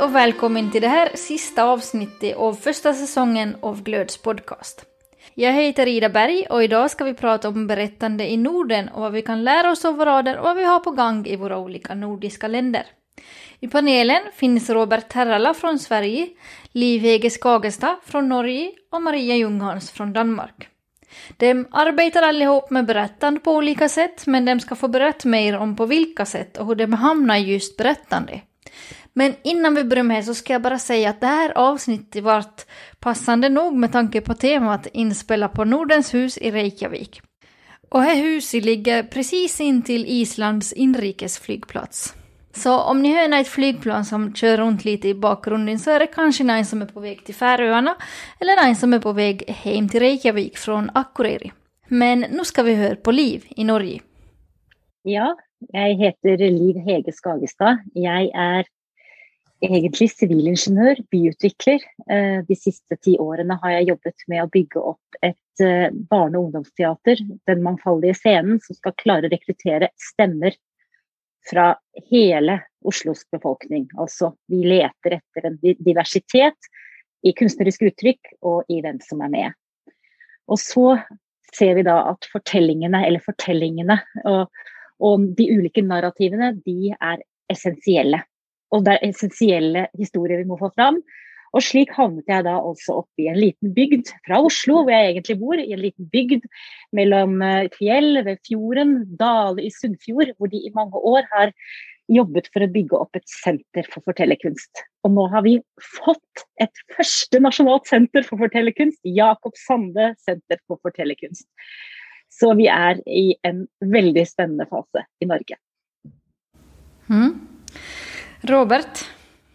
och välkommen till det här sista avsnittet av första säsongen av Glöds podcast. Jag heter Ida Berg och idag ska vi prata om berättande i Norden och vad vi kan lära oss av varandra och vad vi har på gång i våra olika nordiska länder. I panelen finns Robert Terrala från Sverige, Liv Hege Skagestad från Norge och Maria Ljunghans från Danmark. De arbetar allihop med berättande på olika sätt, men de ska få berätta mer om på vilka sätt och hur de hamnar i just berättande. Men innan vi börjar med så ska jag bara säga att det här avsnittet varit passande nog med tanke på temat inspela på Nordens hus i Reykjavik. Och det huset ligger precis in till Islands inrikesflygplats. Så om ni hör ett flygplan som kör runt lite i bakgrunden så är det kanske någon som är på väg till Färöarna eller någon som är på väg hem till Reykjavik från Akureyri. Men nu ska vi höra på Liv i Norge. Ja, jag heter Liv Hege Skagestad. Jag är egentlig civilingeniør, byutvikler. De siste 10 årene har jeg jobbet med å bygge opp et barne- og ungdomsteater, den mangfoldige scenen, som skal klare å rekruttere stemmer fra hele Oslos befolkning. Altså, vi leter etter en diversitet i kunstnerisk uttrykk og i hvem som er med. Og så ser vi da at fortellingene og de ulike narrativene, de er essensielle. Og det er essensielle historier vi må få fram. Og slik havnet jeg da også oppe i en liten bygd fra Oslo, hvor jeg egentlig bor, i en liten bygd mellom fjell ved fjorden, Dale i Sunnfjord, hvor de i mange år har jobbet for å bygge opp et senter for fortellerkunst. Og nå har vi fått et første nasjonalt senter for fortellerkunst, Jakob Sande Senter for fortellerkunst. Så vi er i en veldig spennende fase i Norge. Robert?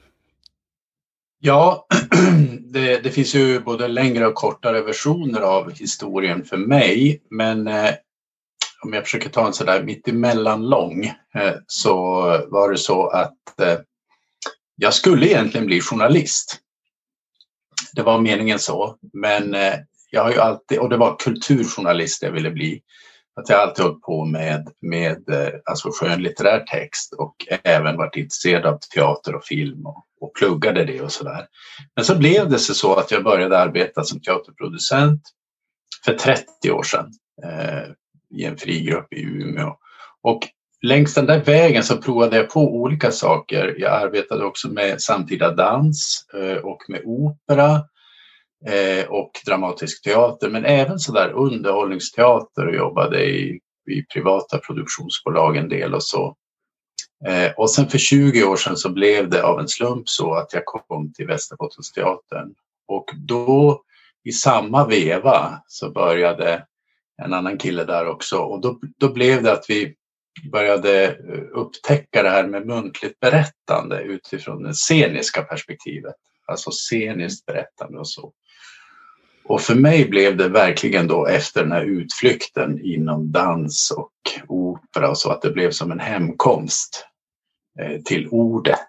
Ja, det finns ju både längre och kortare versioner av historien för mig. Men om jag försöker ta en sådär mittemellan lång så var det så att jag skulle egentligen bli journalist. Det var meningen så. Men jag har ju alltid, och det var kulturjournalist jag ville bli. Att jag alltid hållit på med alltså skönlitterär text och även varit intresserad av teater och film och pluggade det och sådär. Men så blev det så att jag började arbeta som teaterproducent för 30 år sedan i en frigrupp i Umeå. Och längs den där vägen så provade jag på olika saker. Jag arbetade också med samtida dans och med opera. Och dramatisk teater, men även så där underhållningsteater och jobbade i privata produktionsbolag en del och så. Och sen för 20 år sedan så blev det av en slump så att jag kom till Västerbottensteatern. Och då i samma veva så började en annan kille där också. Och då blev det att vi började upptäcka det här med muntligt berättande utifrån det sceniska perspektivet. Alltså sceniskt berättande och så. Och för mig blev det verkligen då efter den här utflykten inom dans och opera och så att det blev som en hemkomst till ordet.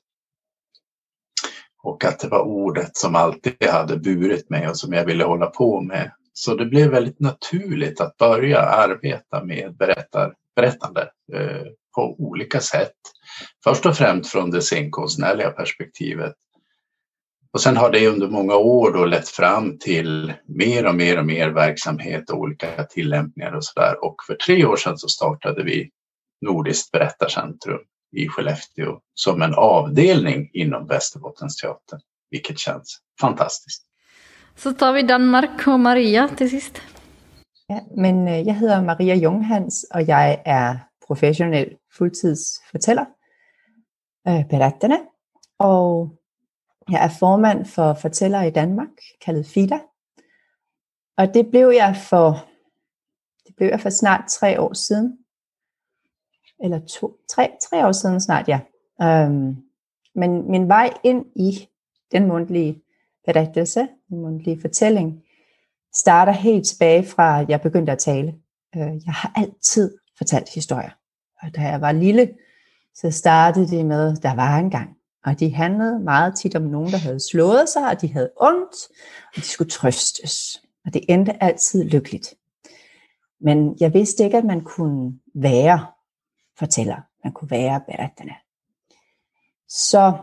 Och att det var ordet som alltid hade burit mig och som jag ville hålla på med. Så det blev väldigt naturligt att börja arbeta med berättande på olika sätt. Först och främst från det scenkonstnärliga perspektivet. Och sen har det under många år då lett fram till mer och mer verksamhet och olika tillämpningar och sådär. Och för 3 år sedan så startade vi Nordiskt berättarcentrum i Skellefteå som en avdelning inom Västerbottensteatern, vilket känns fantastiskt. Så tar vi Danmark och Maria till sist. Ja, men jag heter Maria Ljunghans och jag är professionell fulltidsfortæller, berättande, och jag är formand för Fortællere i Danmark, kaldet FIDA. Och det blev jag för snart 3 år sedan. Eller 3 år sedan snart, ja. Men min vej ind i den mundtlige berättelse, den mundtlige fortælling, starter helt tilbage fra, at jeg begyndte at tale. Jeg har altid fortalt historier. Og da jeg var lille, så startede det med, der var engang. Og de handlede meget tit om nogen, der havde slået sig, og de havde ondt, og de skulle trøstes. Og det endte altid lykkeligt. Men jeg vidste ikke, at man kunne være fortæller. Man kunne være berettende. Så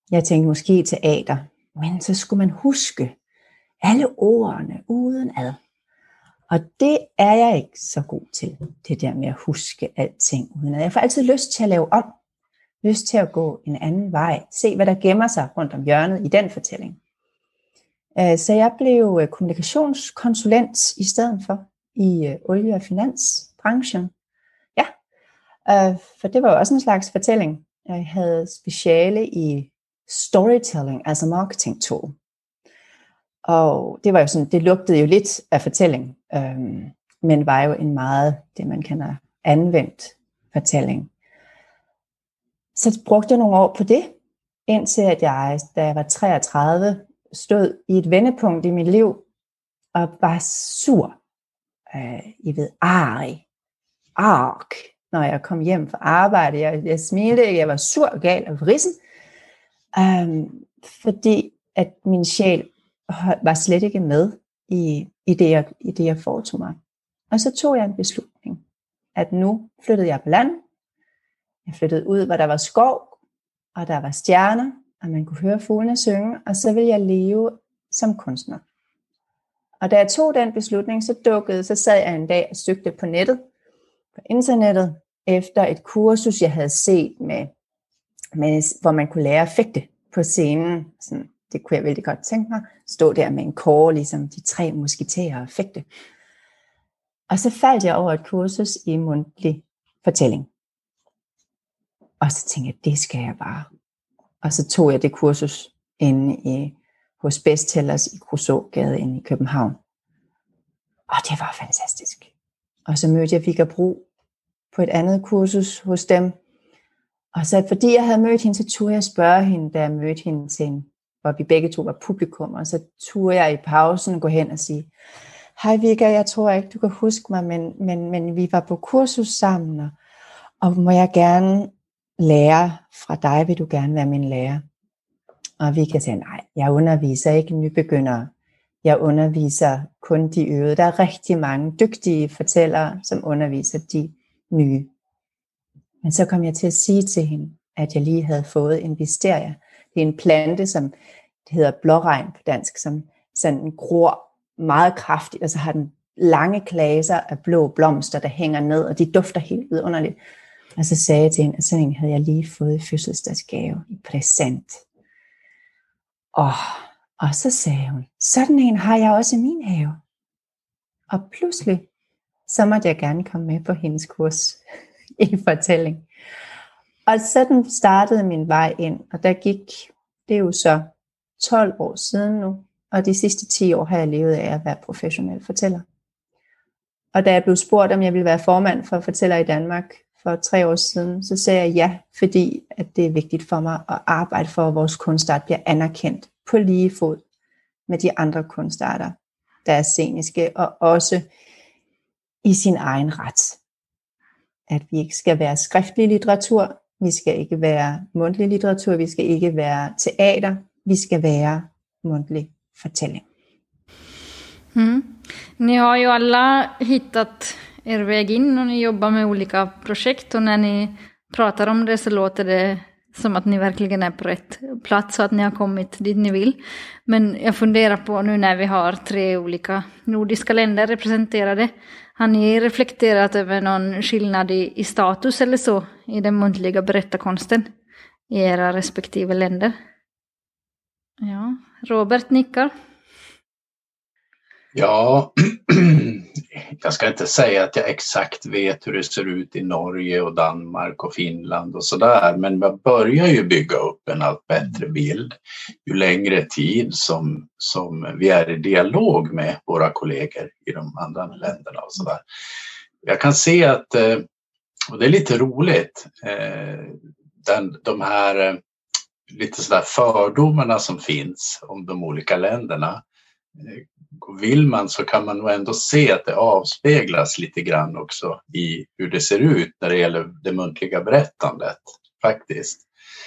Jeg tænkte måske teater, men så skulle man huske alle ordene udenad. Og det er jeg ikke så god til, det der med at huske alting udenad. Jeg får altid lyst til at lave om, lyst til at gå en anden vej, se hvad der gemmer sig rundt om hjørnet i den fortælling. Så jeg blev kommunikationskonsulent i stedet for i olie- og finansbranchen. Ja, for det var jo også en slags fortælling. Jeg havde speciale i storytelling, altså marketing tool. Og det var jo sådan, det lugtede jo lidt af fortælling, men var jo en meget, det man kalder anvendt fortælling. Så brugte jeg nogle år på det, indtil at jeg, da jeg var 33, stod i et vendepunkt i mit liv, og var sur. I ved, når jeg kom hjem fra arbejde. Jeg smilte ikke, jeg var sur og gal og vrissen, fordi at min sjæl var slet ikke med i det, jeg foretog mig. Og så tog jeg en beslutning, at nu flyttede jeg på land. Jeg flyttede ud, hvor der var skov, og der var stjerner, og man kunne høre fuglene synge, og så ville jeg leve som kunstner. Og da jeg tog den beslutning, så sad jeg en dag og søgte på nettet, på internettet, efter et kursus, jeg havde set, med, hvor man kunne lære at fægte på scenen. Sådan, det kunne jeg vældig godt tænke mig. Stå der med en kåre, ligesom de 3 musketerer og fægte. Og så faldt jeg over et kursus i mundtlig fortælling. Og så tænkte jeg, det skal jeg bare. Og så tog jeg det kursus inde hos Besttellers i Krusågade inde i København. Og det var fantastisk. Og så mødte jeg Vigga Bro på et andet kursus hos dem. Og så fordi jeg havde mødt hende, så turde jeg spørge hende, da jeg mødte hende til hvor vi begge to var publikum. Og så turde jeg i pausen gå hen og sige, hej Vigga, jeg tror ikke, du kan huske mig, men vi var på kursus sammen, og må jeg gerne lære fra dig, vil du gerne være min lærer? Og Vigga sagde, nej, jeg underviser ikke nybegyndere. Jeg underviser kun de øvede. Der er rigtig mange dygtige fortællere, som underviser de nye. Men så kom jeg til at sige til hende, at jeg lige havde fået en wisteria. Det er en plante, som det hedder blåregn på dansk, som sådan gror meget kraftigt, og så har den lange klaser af blå blomster, der hænger ned, og de dufter helt vidunderligt. Og så sagde jeg til hende, at sådan en havde jeg lige fået i fødselsdagsgave, i præsent. Og så sagde hun, sådan en har jeg også i min have. Og pludselig, så måtte jeg gerne komme med på hendes kurs i fortælling. Og sådan startede min vej ind, og der gik, det er jo så 12 år siden nu, og de sidste 10 år har jeg levet af at være professionel fortæller. Og da jeg blev spurgt, om jeg ville være formand for Fortæller i Danmark for 3 år siden, så sagde jeg ja, fordi at det er vigtigt for mig at arbejde for, at vores kunstart bliver anerkendt på lige fod med de andre kunstarter, der er sceniske, og også i sin egen ret. At vi ikke skal være skriftlig litteratur, vi skal ikke være mundtlig litteratur, vi skal ikke være teater, vi ska vara muntlig förtällning. Ni har ju alla hittat er väg in och ni jobbar med olika projekt, och när ni pratar om det så låter det som att ni verkligen är på rätt plats och att ni har kommit dit ni vill. Men jag funderar på nu när vi har 3 olika nordiska länder representerade, har ni reflekterat över någon skillnad i status eller så i den muntliga berättarkonsten i era respektive länder? Ja, Robert nickar. Ja, jag ska inte säga att jag exakt vet hur det ser ut i Norge och Danmark och Finland och sådär, men man börjar ju bygga upp en allt bättre bild ju längre tid som vi är i dialog med våra kollegor i de andra länderna och sådär. Jag kan se att, och det är lite roligt, de här lite sådär fördomarna som finns om de olika länderna. Vill man så kan man nog ändå se att det avspeglas lite grann också i hur det ser ut när det gäller det muntliga berättandet faktiskt.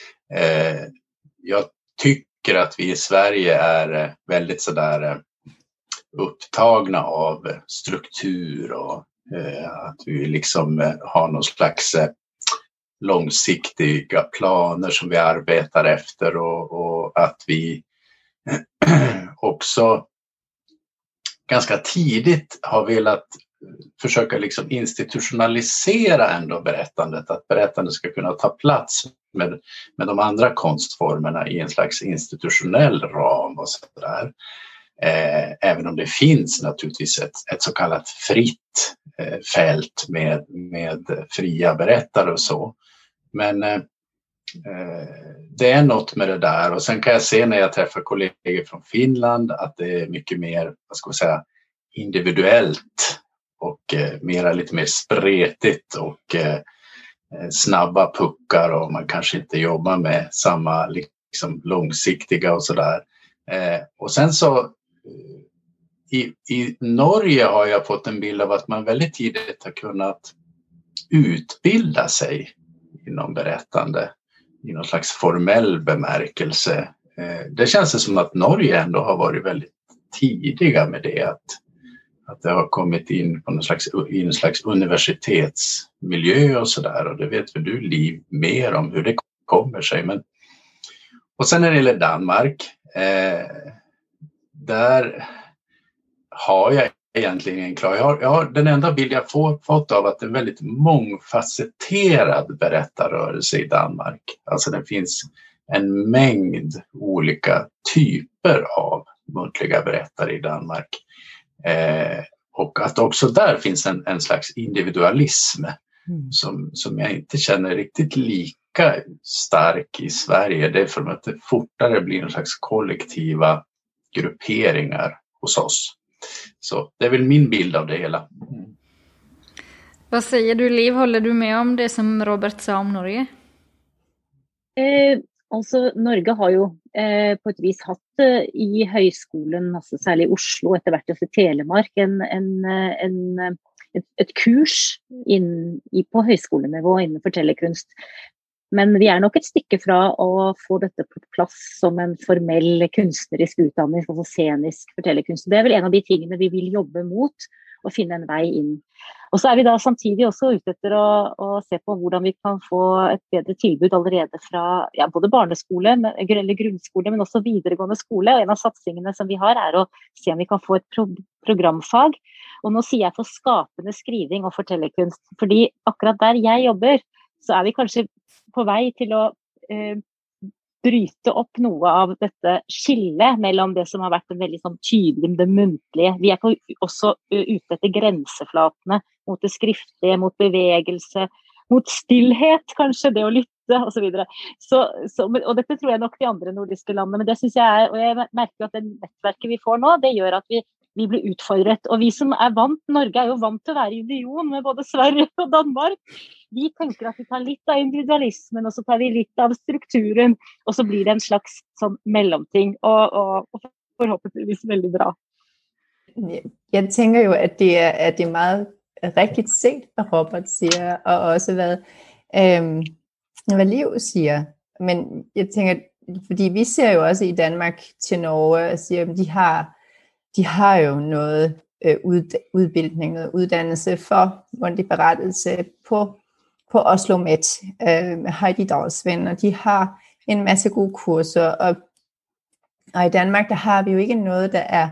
Jag tycker att vi i Sverige är väldigt sådär upptagna av struktur och att vi liksom har någon slags långsiktiga planer som vi arbetar efter och att vi också ganska tidigt har velat försöka liksom institutionalisera ändå berättandet, att berättandet ska kunna ta plats med de andra konstformerna i en slags institutionell ram och sådär. Även om det finns naturligtvis ett så kallat fritt fält med fria berättare och så. Men det är något med det där, och sen kan jag se när jag träffar kollegor från Finland att det är mycket mer, vad ska man säga, individuellt och lite mer spretigt och snabba puckar, och man kanske inte jobbar med samma liksom långsiktiga och sådär. Och sen så i Norge har jag fått en bild av att man väldigt tidigt har kunnat utbilda sig inom berättande i någon slags formell bemärkelse. Det känns som att Norge ändå har varit väldigt tidiga med det, att det har kommit in på i en slags universitetsmiljö och sådär, och det vet väl du, Liv, mer om hur det kommer sig. Och sen när det gäller Danmark, där har jag egentligen en klar. Jag har den enda bild jag fått av att det är en väldigt mångfacetterad berättarrörelse i Danmark. Alltså det finns en mängd olika typer av muntliga berättare i Danmark. Och att också där finns en slags individualism som jag inte känner riktigt lika stark i Sverige. Det är för att det fortare blir en slags kollektiva grupperingar hos oss. Så det är väl min bild av det hela. Vad säger du, Liv? Håller du med om det som Robert sa om Norge? Altså, Norge har jo på et vis hatt i høyskolen, altså særlig i Oslo, etter hvert også i Telemark, et kurs på høyskolenivå innen fortellerkunst. Men vi er nok et stykke fra å få dette på plass som en formell kunstnerisk utdanning, altså scenisk fortellerkunst. Det er vel en av de tingene vi vil jobbe mot, å finne en vei inn. Og så er vi da samtidig også ute etter å se på hvordan vi kan få et bedre tilbud allerede fra både barneskole eller grunnskole, men også videregående skole. Og en av satsingene som vi har er å se om vi kan få et programfag. Og nå sier jeg for skapende skriving og fortellerkunst, fordi akkurat der jeg jobber, så er vi kanskje på vei til å bryte opp noe av dette skillet mellom det som har vært en veldig sånn tydelig, det muntlige. Vi er også ute etter grenseflatene mot det skriftlige, mot bevegelse, mot stillhet, kanskje, det å lytte, og så videre. Og dette tror jeg nok de andre nordiske landene, men det synes jeg og jeg merker at det nettverket vi får nå, det gjør at vi blir utfordret. Og vi som er vant, Norge er jo vant til å være i union med både Sverige og Danmark. Vi tenker at vi tar litt av individualismen, og så tar vi litt av strukturen, og så blir det en slags sånn mellomting, og forhåpentligvis veldig bra. Jeg tænker jo, at det er meget rigtigt set, hvad Robert siger, og også hvad Liv siger. Men jeg tænker, fordi vi ser jo også i Danmark til Norge, og siger, at de har jo noget udbildning, noget uddannelse for mundtlig berettelse på Oslo Met, Heidi Dalsvind, og de har en masse gode kurser, og i Danmark, der har vi jo ikke noget, der er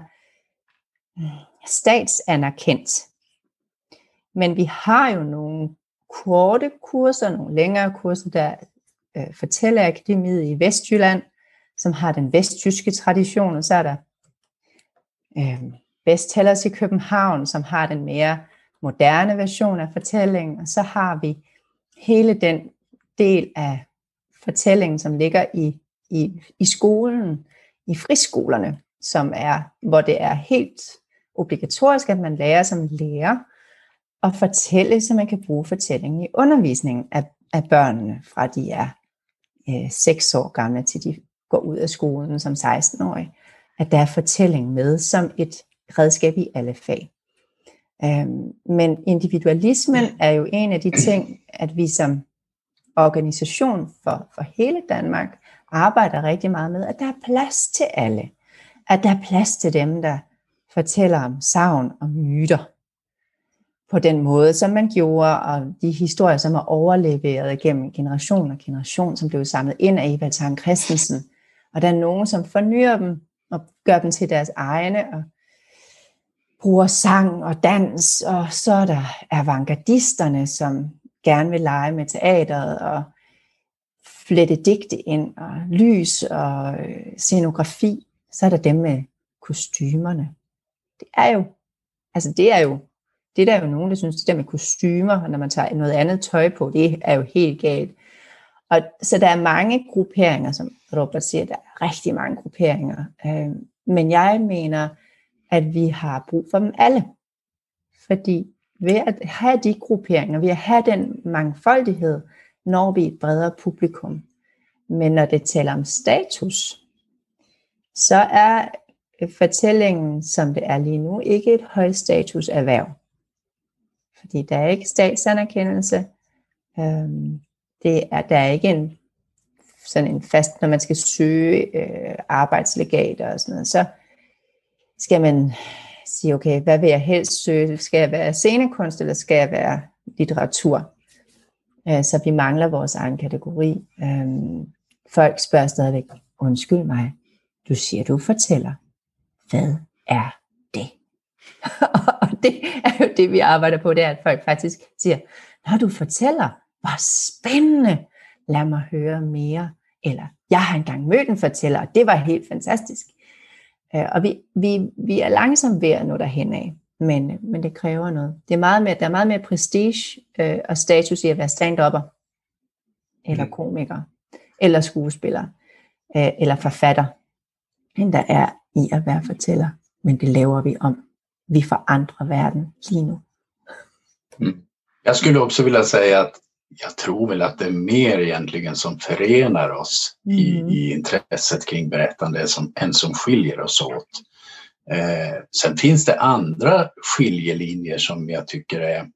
statsanerkendt. Men vi har jo nogle korte kurser, nogle længere kurser, der Fortællerakademiet i Vestjylland, som har den vestjyske tradition, og så er der Besttellers i København, som har den mere moderne version af fortællingen, og så har vi hele den del af fortællingen, som ligger i skolen, i friskolerne, som er, hvor det er helt obligatorisk, at man lærer som lærer at fortælle, så man kan bruge fortællingen i undervisningen af børnene, fra de er 6 år gamle, til de går ud af skolen som 16-årige, at der er fortælling med som et redskab i alle fag. Men individualismen er jo en af de ting, at vi som organisation for hele Danmark arbejder rigtig meget med, at der er plads til alle. At der er plads til dem, der fortæller om sagn og myter. på den måde, som man gjorde, og de historier, som er overleveret gennem generation og generation, som blev samlet ind af Evald Tang Christensen. Og der er nogen, som fornyer dem og gør dem til deres egne og bruger sang og dans. Og så er der avantgardisterne, som gerne vil lege med teateret og flette digte ind og lys og scenografi. Så er der dem med kostymerne. Det er jo nogen, der synes, det der med kostymer, når man tager noget andet tøj på, det er jo helt galt. Og så der er mange grupperinger, som Robert siger, der er rigtig mange grupperinger. Men jeg mener, at vi har brug for dem alle. Fordi ved at have de grupperinger, ved at have den mangfoldighed, når vi et bredere publikum. Men når det taler om status, så er fortællingen, som det er lige nu, ikke et højstatus erhverv. Fordi der er ikke statsanerkendelse. Der er ikke sådan en fast, når man skal søge arbejdslegater og sådan noget, så skal man sige, okay, hvad vil jeg helst søge? Skal jeg være scenekunst, eller skal jeg være litteratur? Så vi mangler vores egen kategori. Folk spørger stadigvæk, undskyld mig, du siger, du fortæller. Hvad er det? Og det er jo det, vi arbejder på, det er, at folk faktisk siger, når du fortæller, hvor spændende, lad mig høre mere. Eller, jeg har engang mødt en fortæller, og det var helt fantastisk. Og vi er langsomt ved at nå derhen af, men det kræver noget. Der er meget mere prestige og status i at være stand-upper, eller komiker, eller skuespiller, eller forfatter, end der er i at være fortæller. Men det laver vi om. Vi forandrer verden lige nu. Jag skulle också vilja säga att jag tror väl att det är mer egentligen som förenar oss i intresset kring berättande än som skiljer oss åt. Sen finns det andra skiljelinjer som jag tycker är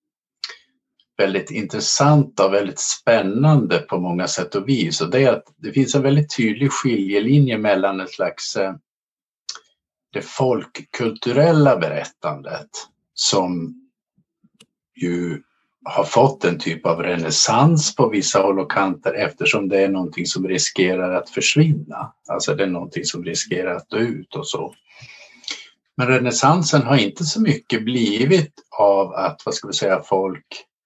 väldigt intressanta och väldigt spännande på många sätt och vis. Och det är att det finns en väldigt tydlig skiljelinje mellan ett slags det folkkulturella berättandet som ju har fått en typ av renässans på vissa håll och kanter eftersom det är någonting som riskerar att försvinna. Alltså det är någonting som riskerar att dö ut och så. Men renässansen har inte så mycket blivit av att, folk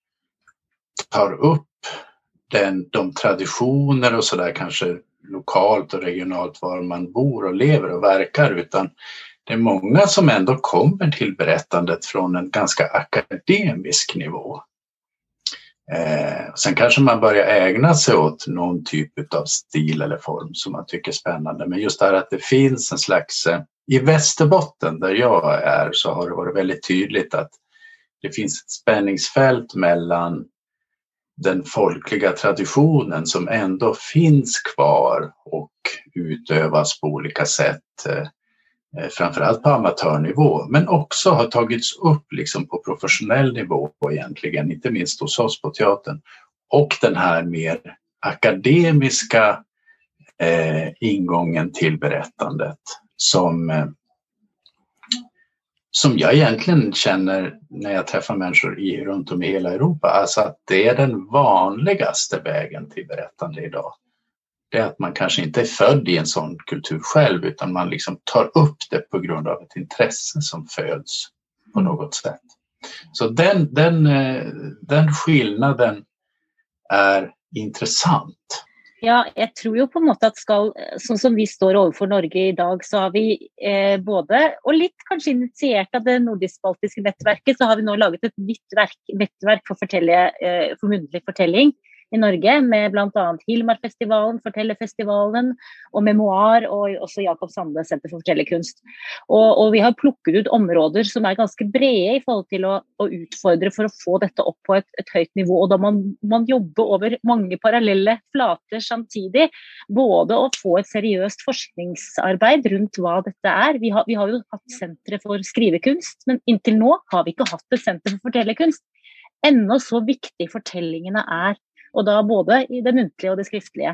tar upp de traditioner och sådär kanske lokalt och regionalt var man bor och lever och verkar, utan det är många som ändå kommer till berättandet från en ganska akademisk nivå. Sen kanske man börjar ägna sig åt någon typ av stil eller form som man tycker är spännande. Men just det här att det finns en slags... I Västerbotten där jag är så har det varit väldigt tydligt att det finns ett spänningsfält mellan den folkliga traditionen som ändå finns kvar och utövas på olika sätt. Framförallt på amatörnivå, men också har tagits upp liksom på professionell nivå egentligen, inte minst hos oss på teatern. Och den här mer akademiska ingången till berättandet som jag egentligen känner när jag träffar människor runt om i hela Europa. Alltså att det är den vanligaste vägen till berättande idag. Det är att man kanske inte är född i en sån kultur själv, utan man liksom tar upp det på grund av ett intresse som föds på något sätt. Så den skillnaden är intressant. Ja, jeg tror jo på en måte at sånn som vi står overfor Norge i dag, så har vi både, og litt kanskje initiert av det nordisk-baltiske nettverket, så har vi nå laget et nettverk for muntlig fortelling i Norge, med blant annet Hilmarfestivalen, Fortellerfestivalen og Memoir, og også Jakob Sande Senter for Fortellerkunst. Og vi har plukket ut områder som er ganske brede i forhold til å utfordre for å få dette opp på et høyt nivå, og da man jobber over mange parallelle flater samtidig, både å få et seriøst forskningsarbeid rundt hva dette er. Vi har jo hatt sentre for skrivekunst, men inntil nå har vi ikke hatt et senter for fortellerkunst. Ennå så viktig fortellingene er, og da både i det muntlige og det skriftlige.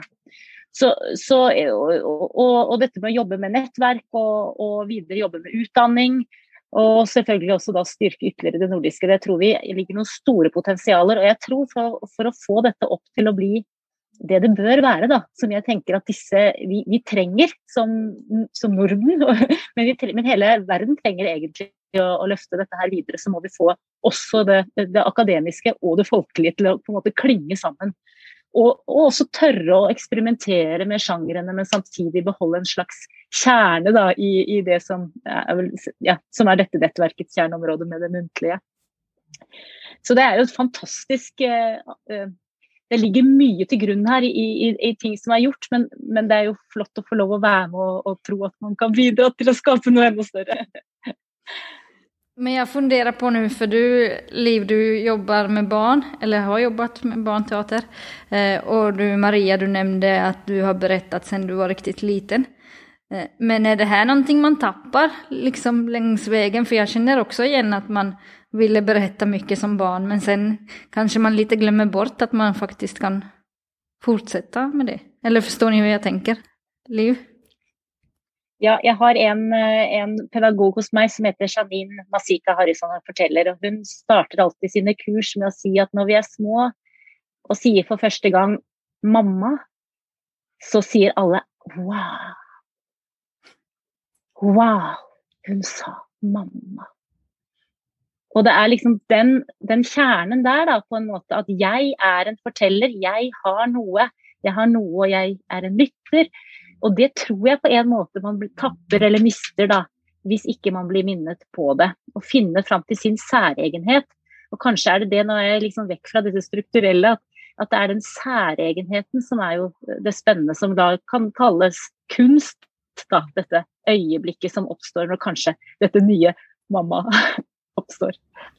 Og dette med å jobbe med nettverk og videre jobbe med utdanning, Og selvfølgelig også da styrke ytterligere det nordiske. Det tror vi ligger noen store potensialer, og jeg tror for å få dette opp til å bli det det bør være da, som jeg tenker at vi trenger som Norden, men hele verden trenger egentlig å løfte dette her videre, så må vi få også det akademiske og det folkelige til å på en måte klinge sammen. Og også tørre å eksperimentere med sjangrene, men samtidig beholde en slags kjerne da, i det som som dette nettverkets kjerneområde med det muntlige. Så det jo et fantastisk... Det ligger mye til grunn her i ting som gjort, men det jo flott å få lov å være med og tro at man kan bidra till att skapa något ännu större. Men jag funderar på nu, för Liv, du jobbar med barn, eller har jobbat med barnteater. Och du, Maria, du nämnde att du har berättat sedan du var riktigt liten. Men är det här någonting man tappar liksom längs vägen? För jag känner också igen att man ville berätta mycket som barn, men sen kanske man lite glömmer bort att man faktiskt kan fortsätta med det. Eller förstår ni hur jag tänker? Liv? Ja, jeg har en pedagog hos meg som heter Janine Masika Harrison, og forteller, og hun starter alltid sine kurs med å si at når vi små og sier for første gang mamma, så sier alle wow. Wow, hun sa mamma. Og det liksom den kjernen der da, på en måte, at jeg en forteller, jeg har noe, og jeg en lytter. Og det tror jeg på en måte man tapper eller mister da, hvis ikke man blir minnet på det. Og finne frem til sin særegenhet. Og kanskje det når jeg liksom vekk fra dette strukturelle, at det den særegenheten som jo det spennende, som da kan kalles kunst, da, dette øyeblikket som oppstår når kanskje dette nye mamma oppstår.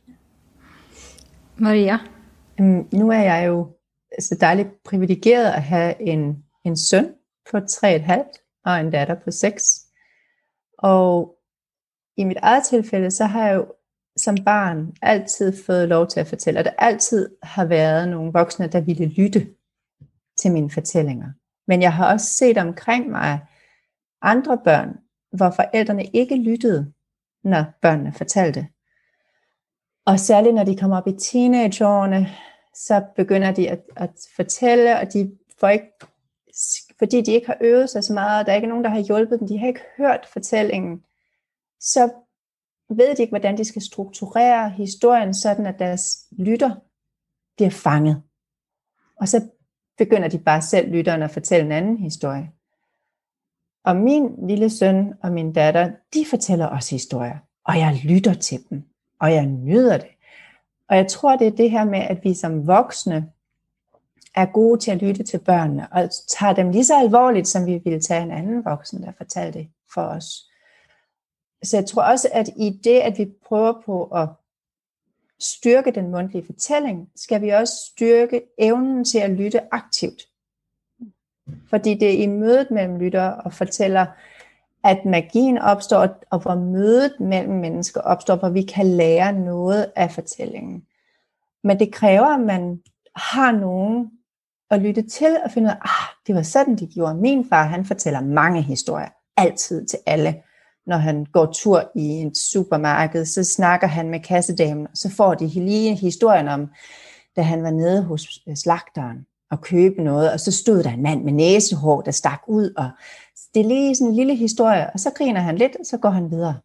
Maria? Nu jeg jo så dejligt privilegeret at have en søn på 3,5 og en datter på 6. Og i mit eget tilfælde, så har jeg jo som barn altid fået lov til at fortælle, og der altid har været nogle voksne, der ville lytte til mine fortællinger. Men jeg har også set omkring mig andre børn, hvor forældrene ikke lyttede, når børnene fortalte. Og særligt når de kommer op i teenageårene, så begynder de at fortælle, og de får ikke, fordi de ikke har øvet sig så meget, og der ikke nogen, der har hjulpet dem, de har ikke hørt fortællingen, så ved de ikke, hvordan de skal strukturere historien, sådan at deres lytter bliver fanget. Og så begynder de bare selv lytteren at fortælle en anden historie. Og min lille søn og min datter, de fortæller også historier, og jeg lytter til dem, og jeg nyder det. Og jeg tror, det det her med, at vi som voksne gode til at lytte til børnene, og tager dem lige så alvorligt, som vi ville tage en anden voksen, der fortalte det for os. Så jeg tror også, at i det, at vi prøver på at styrke den mundtlige fortælling, skal vi også styrke evnen til at lytte aktivt. Fordi det i mødet mellem lytter og fortæller, at magien opstår, og hvor mødet mellem mennesker opstår, hvor vi kan lære noget af fortællingen. Men det kræver, at man har nogen at lytte til og finde ud af, det var sådan, de gjorde. Min far, han fortæller mange historier, altid til alle. Når han går tur i et supermarked, så snakker han med kassedamen, og så får de lige historien om, da han var nede hos slagteren og købe noget, og så stod der en mand med næsehår, der stak ud, og det lige sådan en lille historie, og så griner han lidt, og så går han videre.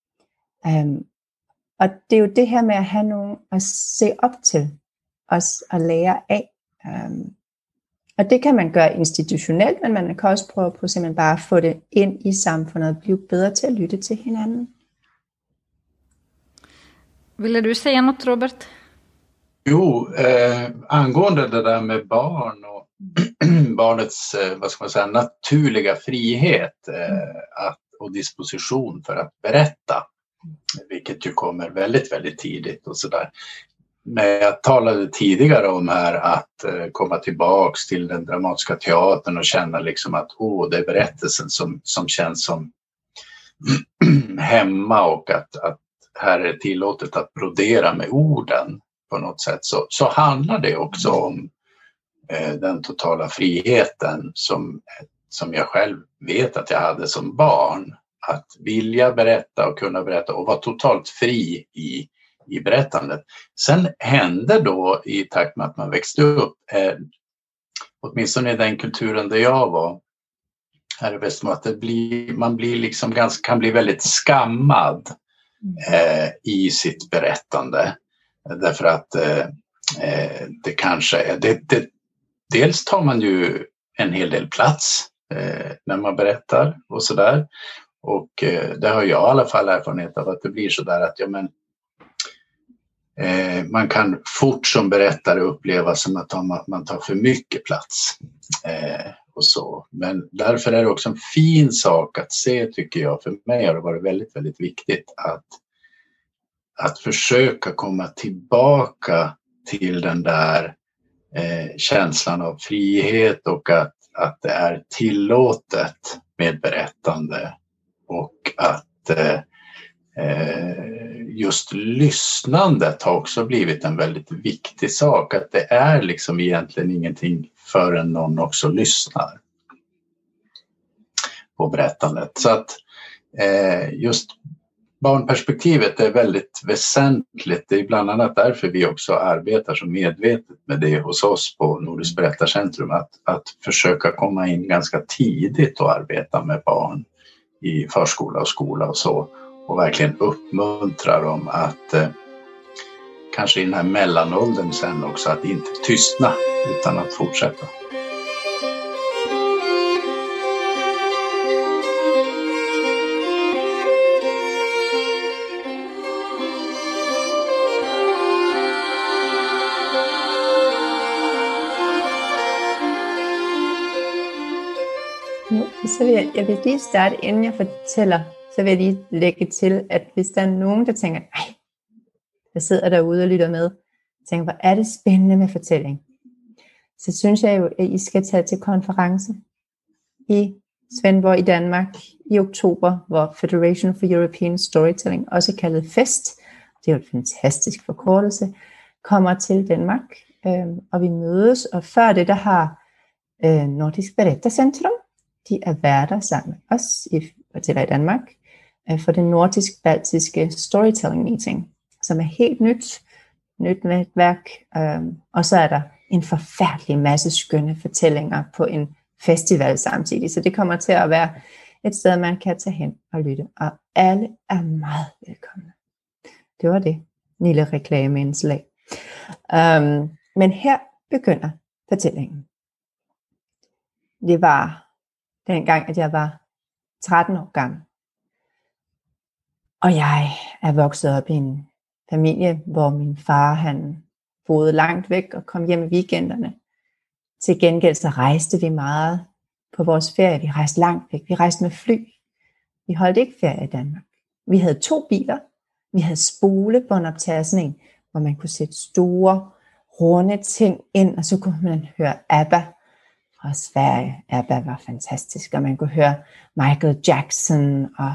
Og det jo det her med at have nogen at se op til, os at lære af. Og det kan man gøre institutionelt, men man kan også prøve på simpelthen bare at få det ind i samfundet og blive bedre til at lytte til hinanden. Ville du säga något, Robert? Jo, angående det där med barn och barnets vad ska man säga, naturliga frihet och disposition för att berätta, vilket ju kommer väldigt, väldigt tidigt och sådär. Men jag talade tidigare om här att komma tillbaks till den dramatiska teatern och känna liksom att det är berättelsen som känns som hemma, och att här är det tillåtet att brodera med orden på något sätt, så handlar det också om den totala friheten som jag själv vet att jag hade som barn. att vilja berätta och kunna berätta och vara totalt fri i berättandet. Sen hände då i takt med att man växte upp, åtminstone i den kulturen där jag var här i Västmanland, att man blir liksom kan bli väldigt skammad i sitt berättande. Därför att det kanske är... Dels tar man ju en hel del plats när man berättar och sådär. Och det har jag i alla fall erfarenhet av, att det blir sådär att man kan fort som berättare uppleva som att man tar för mycket plats. Och så. Men därför är det också en fin sak att se, tycker jag. För mig har det varit väldigt, väldigt viktigt att försöka komma tillbaka till den där känslan av frihet och att det är tillåtet med berättande och att just lyssnandet har också blivit en väldigt viktig sak. Att det är liksom egentligen ingenting förrän någon också lyssnar på berättandet. Så att just barnperspektivet är väldigt väsentligt. Det är bland annat därför vi också arbetar så medvetet med det hos oss på Nordiskt berättarcentrum. Att försöka komma in ganska tidigt och arbeta med barn i förskola och skola och så. Och verkligen uppmuntra dem att kanske i den här mellanåldern sen också att inte tystna utan att fortsätta. Så jeg vil lige starte, inden jeg fortæller, så vil jeg lige lægge til, at hvis der er nogen, der tænker, nej, der sidder derude og lytter med, tænker, hvor er det spændende med fortælling, så synes jeg jo, at I skal tage til konference i Svendborg i Danmark i oktober, hvor Federation for European Storytelling, også kaldet FEST, det er jo en fantastisk forkortelse, kommer til Danmark, og vi mødes, og før det, der har Nordisk Berättarcentrum, de er værter sammen med os i Fortæller i Danmark for den nordisk-baltiske storytelling meeting, som er helt nyt netværk, og så er der en forfærdelig masse skønne fortællinger på en festival samtidig, så det kommer til at være et sted, man kan tage hen og lytte, og alle er meget velkomne. Det var det lille reklameindslag. Men her begynder fortællingen. Det var dengang, at jeg var 13 år gammel. Og jeg er vokset op i en familie, hvor min far han boede langt væk og kom hjem i weekenderne. Til gengæld så rejste vi meget på vores ferie. Vi rejste langt væk. Vi rejste med fly. Vi holdt ikke ferie i Danmark. Vi havde 2 biler. Vi havde spolebåndoptager, sådan en, hvor man kunne sætte store, runde ting ind, og så kunne man høre ABBA fra Sverige. ABBA var fantastisk, og man kunne høre Michael Jackson og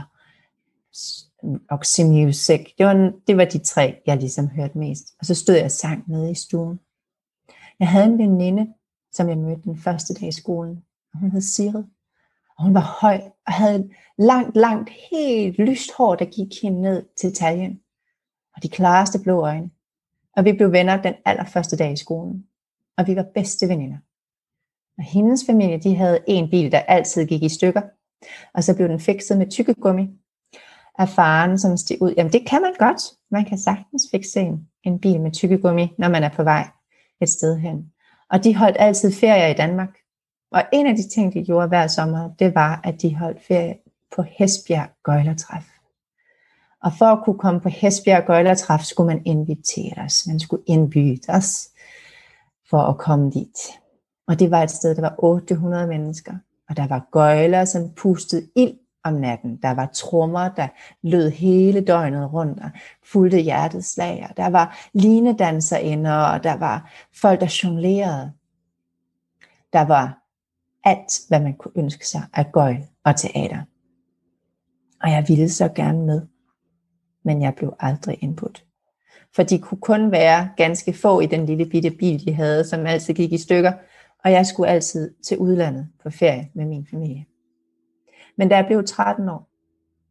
Oxy Music. Det var de 3, jeg ligesom hørte mest. Og så stod jeg og sang nede i stuen. Jeg havde en veninde, som jeg mødte den første dag i skolen. Og hun hed Sigrid. Og hun var høj og havde langt, helt lyst hår, der gik hende ned til taljen. Og de klareste blå øjne. Og vi blev venner den allerførste dag i skolen. Og vi var bedste veninder. Og hendes familie, de havde en bil, der altid gik i stykker. Og så blev den fikset med tykkegummi af faren, som steg ud. Jamen det kan man godt. Man kan sagtens fikse en bil med tykkegummi, når man er på vej et sted hen. Og de holdt altid ferie i Danmark. Og en af de ting, de gjorde hver sommer, det var, at de holdt ferie på Hesbjerg Gøjlertræf. Og for at kunne komme på Hesbjerg Gøjlertræf, skulle man inviteres. Man skulle indbydes for at komme dit. Og det var et sted, der var 800 mennesker. Og der var gøjler, som pustede ild om natten. Der var trommer, der lød hele døgnet rundt og fulgte hjertets slag. Der var linedanserinder, og der var folk, der jonglerede. Der var alt, hvad man kunne ønske sig af gøjl og teater. Og jeg ville så gerne med, men jeg blev aldrig indbudt. For de kunne kun være ganske få i den lille bitte bil, de havde, som altid gik i stykker. Og jeg skulle altid til udlandet på ferie med min familie. Men da jeg blev 13 år,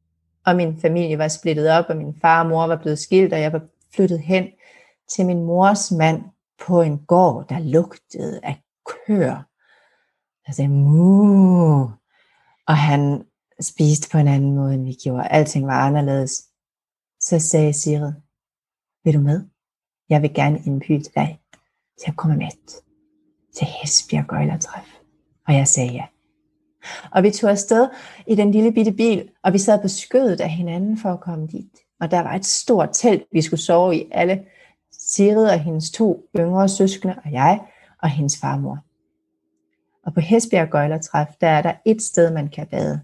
Og min familie var splittet op, og min far og mor var blevet skilt, og jeg var flyttet hen til min mors mand på en gård, der lugtede af køer. Jeg sagde, muh. Og han spiste på en anden måde, end vi gjorde. Alting var anderledes. Så sagde Sigrid, vil du med? Jeg vil gerne indbyde dig til at komme med til Hesbjerg Gøjlertræf. Og jeg sagde ja. Og vi tog afsted i den lille bitte bil, og vi sad på skødet af hinanden for at komme dit. Og der var et stort telt, vi skulle sove i, alle Sigrid og hendes 2 yngre søskende, og jeg og hendes farmor. Og på Hesbjerg Gøjlertræf, der er der et sted, man kan bade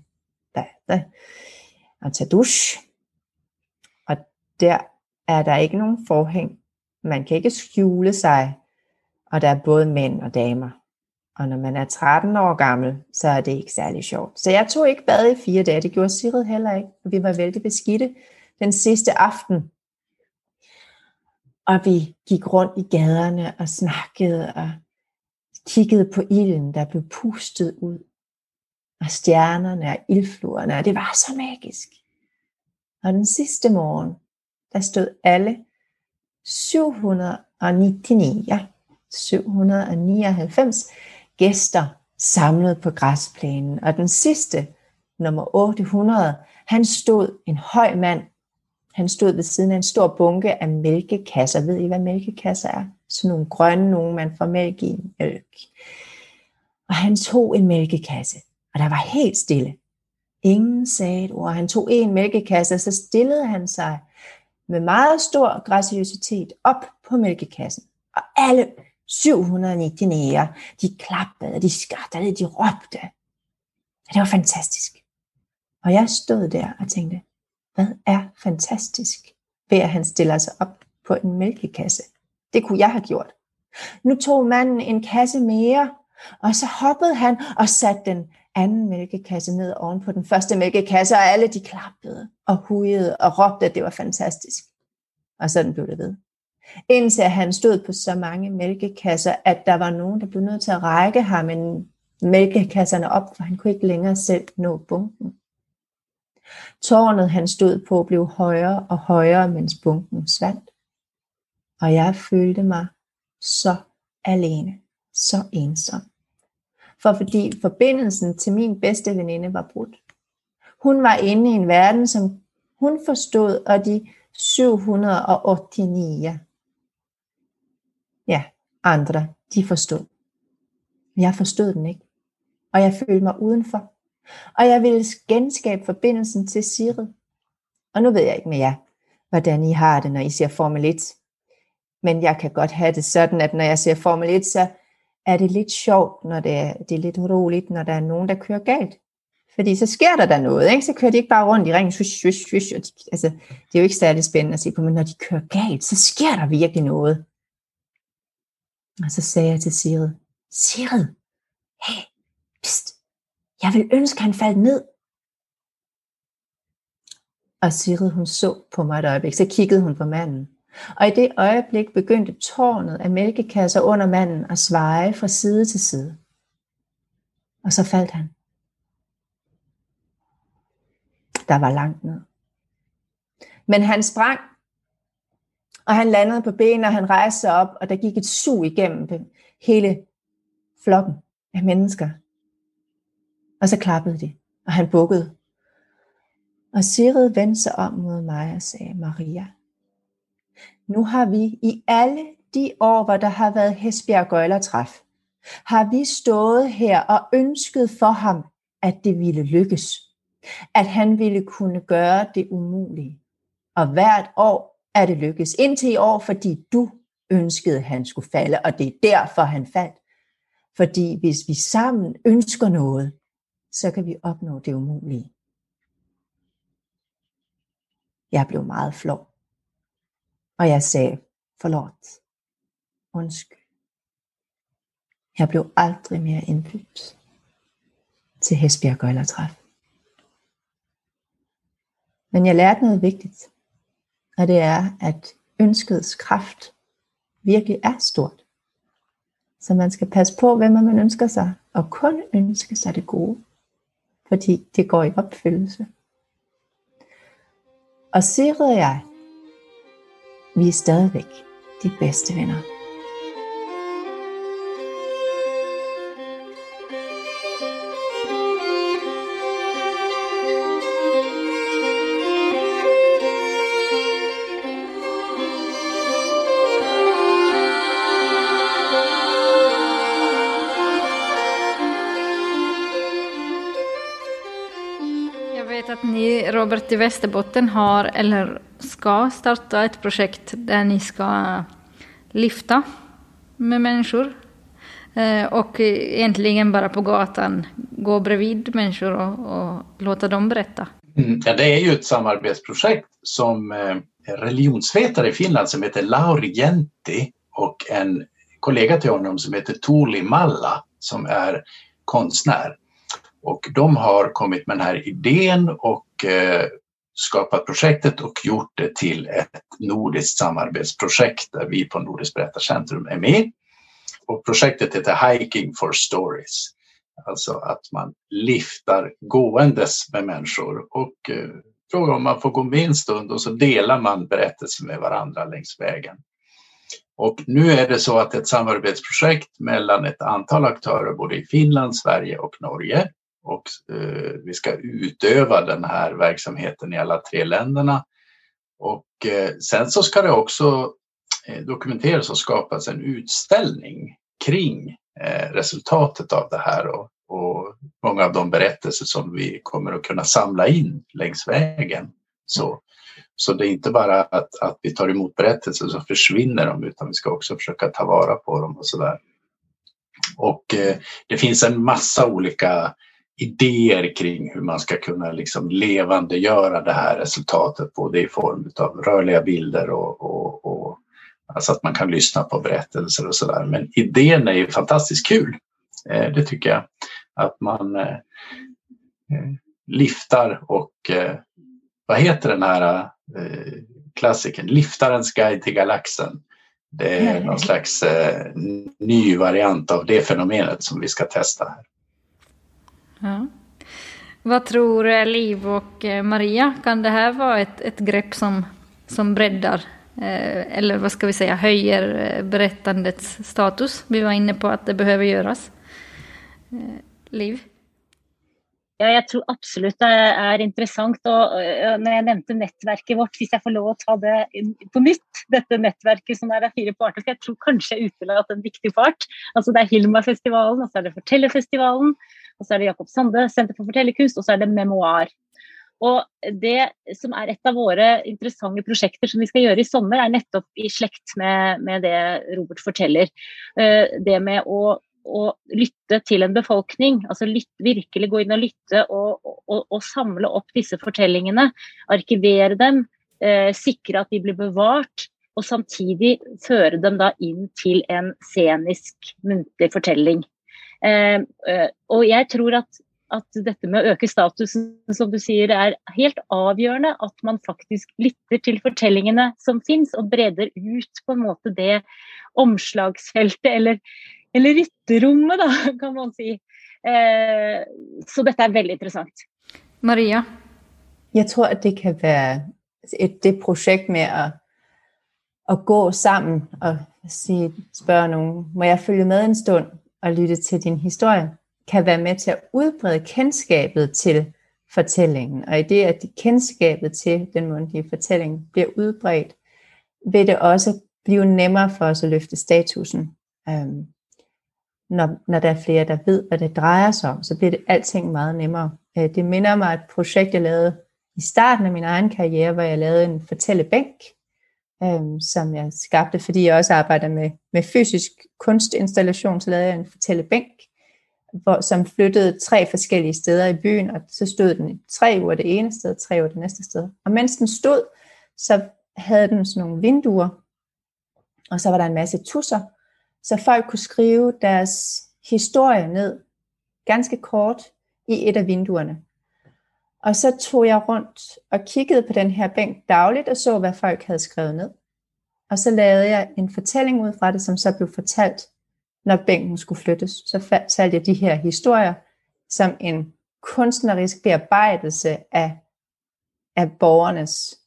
og tage dusch. Og der er der ikke nogen forhæng. Man kan ikke skjule sig, og der er både mænd og damer. Og når man er 13 år gammel, så er det ikke særlig sjovt. Så jeg tog ikke bad i 4 dage, det gjorde Sigrid heller ikke. Vi var vældig beskidte den sidste aften. Og vi gik rundt i gaderne og snakkede og kiggede på ilden, der blev pustet ud. Og stjernerne og ildfluerne, og det var så magisk. Og den sidste morgen, der stod alle 799 gæster samlet på græsplænen. Og den sidste, nummer 800, han stod en høj mand. Han stod ved siden af en stor bunke af mælkekasser. Ved I, hvad mælkekasser er? Sådan nogle grønne, nogle man får mælk i. Mælk. Og han tog en mælkekasse, og der var helt stille. Ingen sagde et ord. Han tog en mælkekasse, og så stillede han sig med meget stor graciøsitet op på mælkekassen. Og alle 799, de klappede, de skrattede, de råbte. Og det var fantastisk. Og jeg stod der og tænkte, hvad er fantastisk ved at han stiller sig op på en mælkekasse? Det kunne jeg have gjort. Nu tog manden en kasse mere, og så hoppede han og satte den anden mælkekasse ned oven på den første mælkekasse, og alle de klappede og hujede og råbte, at det var fantastisk. Og sådan blev det ved. Indtil han stod på så mange mælkekasser, at der var nogen, der blev nødt til at række ham mælkekasserne op, for han kunne ikke længere selv nå bunken. Tårnet han stod på blev højere og højere, mens bunken svandt. Og jeg følte mig så alene, så ensom. Fordi forbindelsen til min bedste veninde var brudt. Hun var inde i en verden, som hun forstod, og de 789 andre, de forstod. Men jeg forstod den ikke. Og jeg følte mig udenfor. Og jeg ville genskabe forbindelsen til Sigrid. Og nu ved jeg ikke med jer, hvordan I har det, når I ser Formel 1. Men jeg kan godt have det sådan, at når jeg ser Formel 1, så er det lidt sjovt, når det er lidt roligt, når der er nogen, der kører galt. Fordi så sker der noget, ikke? Så kører de ikke bare rundt i ringen, swish, swish, swish. Altså, det er jo ikke særlig spændende at se på, men når de kører galt, så sker der virkelig noget. Og så sagde jeg til Sigrid, Sigrid, hey, pst, jeg vil ønske, han faldt ned. Og Sigrid, hun så på mig et øjeblik, så kiggede hun på manden. Og i det øjeblik begyndte tårnet af mælkekasser under manden at svaje fra side til side. Og så faldt han. Der var langt ned. Men han sprang, og han landede på benene, og han rejste sig op, og der gik et sug igennem hele flokken af mennesker. Og så klappede de, og han bukkede. Og Sigrid vendte sig om mod mig og sagde, Maria, nu har vi i alle de år, hvor der har været Hesbjerg Gøjlertræf, har vi stået her og ønsket for ham, at det ville lykkes. At han ville kunne gøre det umulige. Og hvert år er det lykkes. Indtil i år, fordi du ønskede, at han skulle falde, og det er derfor, han faldt. Fordi hvis vi sammen ønsker noget, så kan vi opnå det umulige. Jeg blev meget flov. Og jeg sagde, forlåt, undskyld. Jeg blev aldrig mere indbudt til Hesbjerg Gøjlertræf. Men jeg lærte noget vigtigt, og det er, at ønskets kraft virkelig er stort. Så man skal passe på, hvem man ønsker sig, og kun ønske sig det gode, fordi det går i opfyldelse. Og Sigrid og jeg, vi er stadigvæk de bedste venner. Att ni, Robert, i Västerbotten har eller ska starta ett projekt där ni ska lyfta med människor och egentligen bara på gatan gå bredvid människor och låta dem berätta. Ja, det är ju ett samarbetsprojekt som religionsvetare i Finland som heter Lauri Jäntti och en kollega till honom som heter Tuuli Malla som är konstnär. Och de har kommit med den här idén och skapat projektet och gjort det till ett nordiskt samarbetsprojekt där vi på Nordiskt berättarcentrum är med. Och projektet heter Hiking for Stories. Alltså att man lyftar gåendes med människor och frågar om man får gå med en stund och så delar man berättelser med varandra längs vägen. Och nu är det så att ett samarbetsprojekt mellan ett antal aktörer både i Finland, Sverige och Norge. Och vi ska utöva den här verksamheten i alla 3 länderna. Och sen så ska det också dokumenteras och skapas en utställning kring resultatet av det här och många av de berättelser som vi kommer att kunna samla in längs vägen. Så det är inte bara att vi tar emot berättelser så försvinner de, utan vi ska också försöka ta vara på dem och sådär. Och det finns en massa olika idéer kring hur man ska kunna liksom levandegöra det här resultatet, både i form av rörliga bilder och alltså att man kan lyssna på berättelser och sådär. Men idén är ju fantastiskt kul. Det tycker jag. Att man lyftar och vad heter den här klassiken? Lyftarens guide till galaxen. Det är någon slags ny variant av det fenomenet som vi ska testa här. Ja. Vad tror Liv och Maria? Kan det här vara ett grepp som breddar eller vad ska vi säga, höjer berättandets status? Vi var inne på att det behöver göras. Liv? Ja, jag tror absolut det är intressant. Och när jag nämnde nätverket vårt, hvis jag får lov att ta det på nytt, detta nätverket som är 4 parter, för jag tror kanske jag utelat en viktig part. Alltså det är Hilma-festivalen, och så är det Fortällerfestivalen, och så är det Jakob Sande Center for fortellerkunst, och så är det Memoir. Och det som är ett av våra intressanta projekt som vi ska göra i sommar är nettopp i släkt med det Robert forteller. Det med att lytte till en befolkning, alltså virkelig gå in och lytte och samla upp dessa fortellingene, arkivera dem, sikra att de blir bevart och samtidigt föra dem då in till en scenisk muntlig fortelling. Och jag tror att detta med att öka statusen, som du säger, är helt avgörande, att man faktiskt lytter till fortellingene som finns och breder ut på en måte det omslagsfältet eller rytterrummet då, kan man säga. Så detta är väldigt intressant. Maria? Jag tror att det kan vara det projekt med att gå sammen och spørge nogen, må jeg følge med en stund og lytte til din historie, kan være med til at udbrede kendskabet til fortællingen. Og i det, at kendskabet til den mundtlige fortælling bliver udbredt, vil det også blive nemmere for os at løfte statusen. Når der er flere, der ved, hvad det drejer sig om, så bliver det alting meget nemmere. Det minder mig et projekt, jeg lavede i starten af min egen karriere, hvor jeg lavede en fortællebænk, som jeg skabte, fordi jeg også arbejder med fysisk kunstinstallation, så lavede jeg en fortællebænk, som flyttede 3 forskellige steder i byen, og så stod den i 3 uger det ene sted, 3 uger det næste sted. Og mens den stod, så havde den sådan nogle vinduer, og så var der en masse tusser, så folk kunne skrive deres historie ned, ganske kort, i et af vinduerne. Og så tog jeg rundt og kiggede på den her bænk dagligt, og så, hvad folk havde skrevet ned. Og så lavede jeg en fortælling ud fra det, som så blev fortalt, når bænken skulle flyttes. Så fortalte jeg de her historier som en kunstnerisk bearbejdelse af borgernes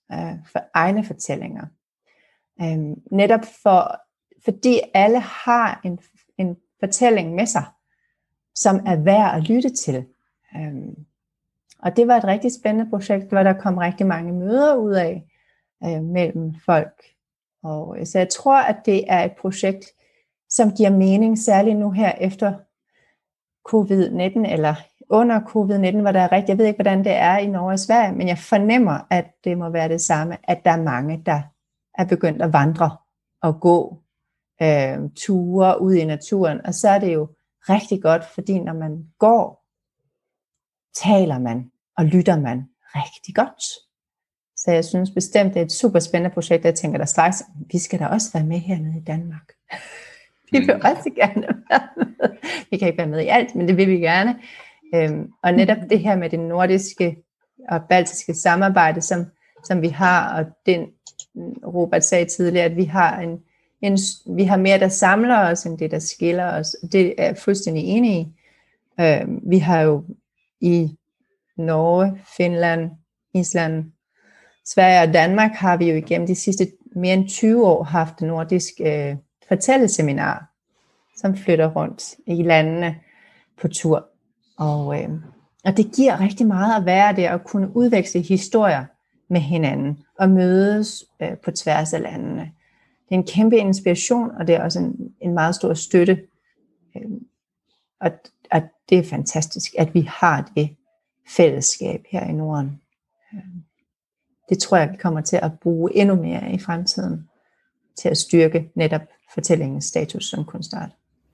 for egne fortællinger. Netop fordi alle har en fortælling med sig, som er værd at lytte til. Og det var et rigtig spændende projekt, hvor der kom rigtig mange møder ud af mellem folk. Og så jeg tror, at det er et projekt, som giver mening, særligt nu her efter covid-19, eller under covid-19, hvor der er jeg ved ikke, hvordan det er i Norge og Sverige, men jeg fornemmer, at det må være det samme, at der er mange, der er begyndt at vandre og gå ture ud i naturen. Og så er det jo rigtig godt, fordi når man går, taler man og lytter man rigtig godt. Så jeg synes bestemt, det er et super spændende projekt. Jeg tænker der straks, vi skal da også være med hernede i Danmark. Vi vil også gerne være med. Vi kan ikke være med i alt, men det vil vi gerne. Og netop det her med det nordiske og baltiske samarbejde, som vi har, og den Robert sagde tidligere, at vi har mere, der samler os, end det, der skiller os. Det er jeg fuldstændig enig i. Vi har jo i Norge, Finland, Island, Sverige og Danmark har vi jo igennem de sidste mere end 20 år haft et nordisk fortælleseminar, som flytter rundt i landene på tur. Og det giver rigtig meget at være der og kunne udveksle historier med hinanden og mødes på tværs af landene. Det er en kæmpe inspiration, og det er også en meget stor støtte. Og det er fantastisk, at vi har det fællesskab her i Norden. Det tror jeg, vi kommer til at bruge endnu mere i fremtiden, til at styrke netop fortællingens status som kunstart.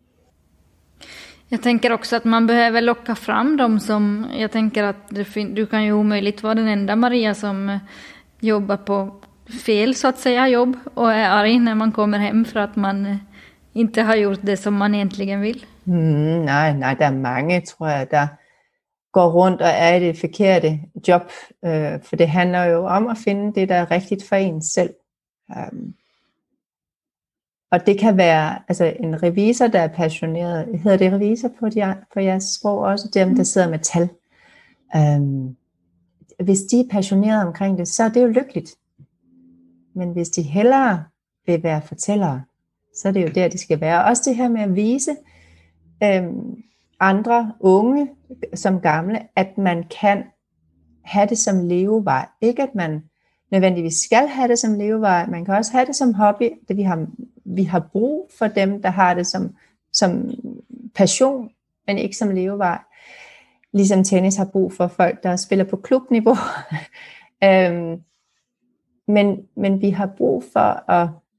Jag tänker också att man behöver locka fram dem som, jag tänker att du kan ju omöjligt vara den enda Maria som jobbar på fel så att säga jobb och är arg när man kommer hem för att man inte har gjort det som man egentligen vill. Nej, der er mange, tror jeg, der går rundt og er i det forkerte job, for det handler jo om at finde det, der er rigtigt for en selv. Og det kan være altså en revisor, der er passioneret. Hedder det revisor på jeres sprog også? Dem, der sidder med tal. Hvis de er passionerede omkring det, så er det jo lykkeligt. Men hvis de hellere vil være fortællere, så er det jo der, de skal være. Også det her med at vise andre unge som gamle, at man kan have det som levevej. Ikke at man nødvendigvis skal have det som levevej. Man kan også have det som hobby. Vi har brug for dem, der har det som passion, men ikke som levevej. Ligesom tennis har brug for folk, der spiller på klubniveau. Men vi har brug for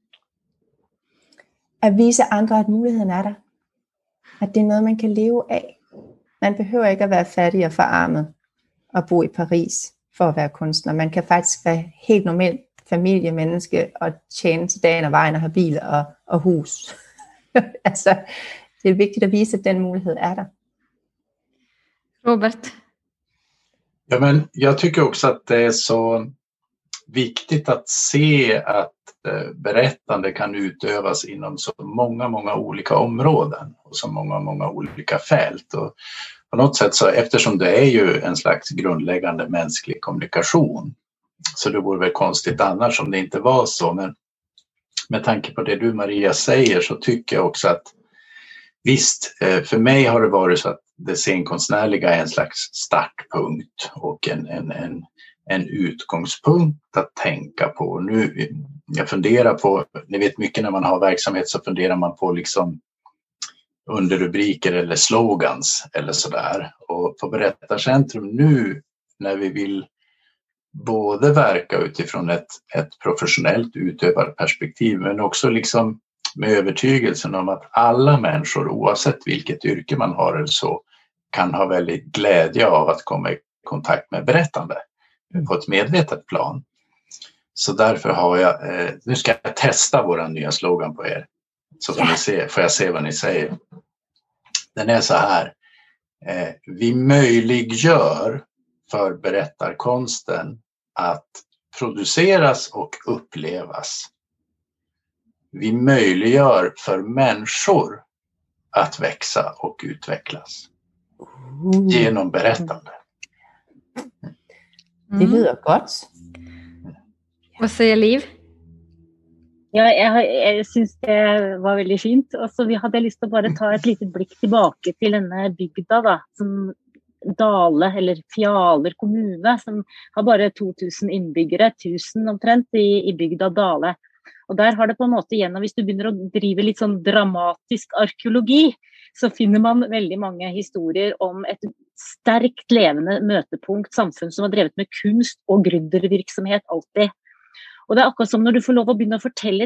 at vise andre, at muligheden er der. At det er noget, man kan leve af. Man behøver ikke at være fattig og forarmet og bo i Paris for at være kunstner. Man kan faktisk være helt normalt familiemenneske og tjene til dagen og vejen og have bil og hus. Altså, det er vigtigt at vise, at den mulighed är där. Robert? Ja, men jag tycker också att det är så viktigt att se att berättande kan utövas inom så många olika områden och så många olika fält. Och på något sätt så, eftersom det är ju en slags grundläggande mänsklig kommunikation, så det vore väl konstigt annars om det inte var så. Men med tanke på det du Maria säger så tycker jag också att visst, för mig har det varit så att det scenkonstnärliga är en slags startpunkt och en utgångspunkt att tänka på. Nu, jag funderar på, ni vet mycket när man har verksamhet så funderar man på liksom underrubriker eller slogans eller sådär. Och på Berättarcentrum nu när vi vill både verka utifrån ett professionellt utövarperspektiv men också liksom med övertygelsen om att alla människor oavsett vilket yrke man har eller så kan ha väldigt glädje av att komma i kontakt med berättande på ett medvetet plan. Så därför har jag, nu ska jag testa våra nya slogan på er. Så får jag se vad ni säger. Den är så här. Vi möjliggör för berättarkonsten att produceras och upplevas. Vi möjliggör för människor att växa och utvecklas genom berättande. Det lyder godt. Vad säger Liv? Ja, jeg synes det var veldig fint. Og så hadde jeg lyst til å bare ta et litet blikk tilbake til denne bygda da, som Dale, eller Fjaler kommune, som har bare 2000 innbyggere, 1000 omtrent i bygda Dale. Og der har det på en måte gjennom, hvis du begynner å drive litt sånn dramatisk arkeologi, så finner man veldig mange historier om et sterkt levende møtepunkt, samfunn som har drevet med kunst og gründervirksomhet alltid. Og det akkurat som når du får lov å begynne å fortelle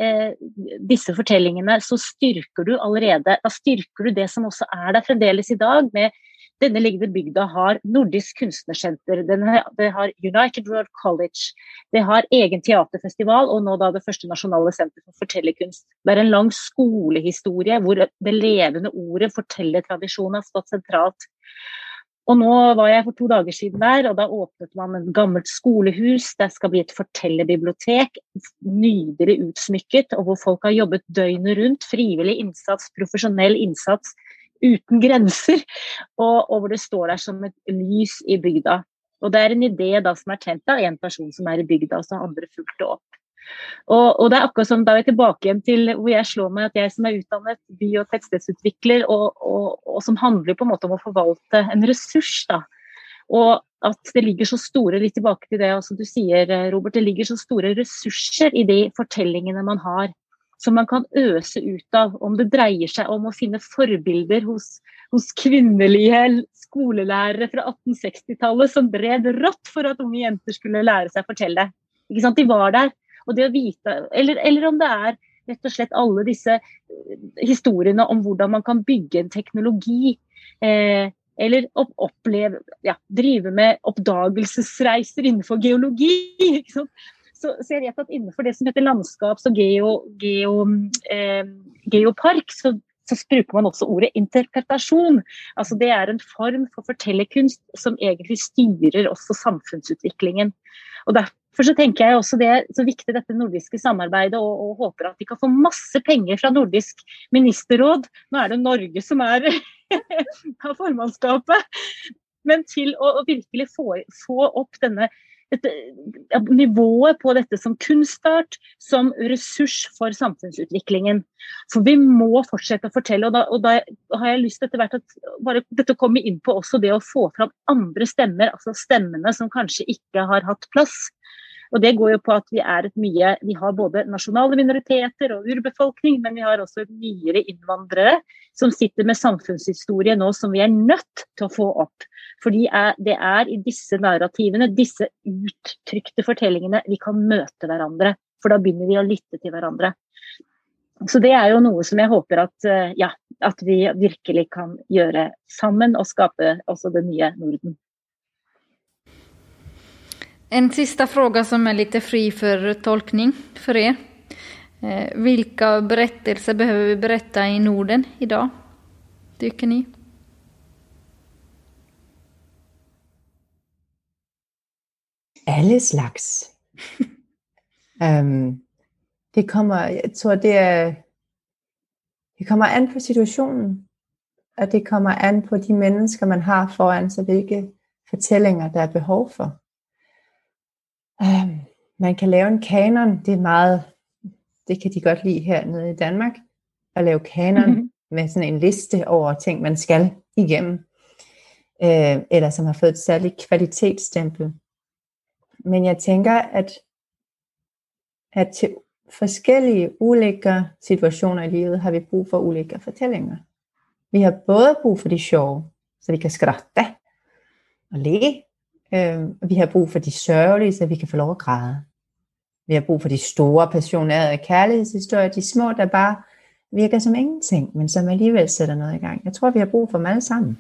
disse fortellingene, så styrker du allerede, da styrker du det som også der fremdeles i dag, med denne liggende bygda har Nordisk kunstnersenter, det har United World College, det har egen teaterfestival, og nå da det første nasjonale senter for fortellerkunst. Det en lang skolehistorie, hvor det levende ordet fortellertradisjonen har stått sentralt. Og nå var jeg for 2 dager siden der, og da åpnet man et gammelt skolehus, det skal bli et fortellerbibliotek, nydelig utsmykket, og hvor folk har jobbet døgnet rundt, frivillig innsats, profesjonell innsats, uten grenser, og hvor det står der som et lys i bygda. Og det en idé da som tent av en person som i bygda, og så andre fulgt det opp. Og det akkurat som da tilbake igjen til hvor jeg slår meg at jeg som utdannet by- og tettstedsutvikler, og som handler på en måte om å forvalte en ressurs da. Og at det ligger så store, litt tilbake til det som du sier, Robert, det ligger så store ressurser i de fortellingene man har, som man kan øse ut av, om det dreier seg om å finne forbilder hos kvinnelige skolelærere fra 1860-tallet som bred rått for at unge jenter skulle lære seg å fortelle. Ikke sant? De var der, og det å vite, eller om det rett og slett alle disse historiene om hvordan man kan bygge en teknologi, eller oppleve, drive med oppdagelsesreiser innenfor geologi, ikke sant? Så jeg vet at innenfor det som heter landskaps- og geopark, så bruker man også ordet interpretasjon. Altså det en form for fortellerkunst som egentlig styrer også samfunnsutviklingen. Og derfor så tenker jeg også det så viktig dette nordiske samarbeidet, og håper at vi kan få masse penger fra Nordisk ministerråd. Nå det Norge som har formannskapet, men til å virkelig få opp nivået på dette som kunstart, som ressurs for samfunnsutviklingen. For vi må fortsette å fortelle, og da har jeg lyst til etter hvert at bare dette kommer inn på også det å få fram andre stemmer, altså stemmene som kanskje ikke har hatt plass. Og det går jo på at vi vi har både nasjonale minoriteter og urbefolkning, men vi har også nyere innvandrere som sitter med samfunnshistorie nå som vi nødt til å få opp. Fordi det i disse narrativene, disse uttrykte fortellingene, vi kan møte hverandre, for da begynner vi å lytte til hverandre. Så det jo noe som jeg håper at vi virkelig kan gjøre sammen, og skape også det nye Norden. En sista fråga som lite fri för tolkning för er. Vilka berättelser behöver vi berätta i Norden idag, tycker ni? Alle slags. Det kommer, jeg tror det kommer an på situationen, og det kommer an på de mennesker man har foran sig, hvilke fortællinger der behov for. Man kan lave en kanon, det kan de godt lide hernede i Danmark, at lave kanon med sådan en liste over ting man skal igennem, eller som har fået et særligt kvalitetsstempel. Men jeg tænker, at til forskellige ulike situationer i livet har vi brug for ulike fortællinger. Vi har både brug for de sjove, så vi kan skratte og le. Vi har brug for de sørgelige, så vi kan få lov at græde. Vi har brug for de store, passionerede kærlighedshistorier, de små, der bare virker som ingenting, men som alligevel sætter noget i gang. Jeg tror, vi har brug for dem alle sammen.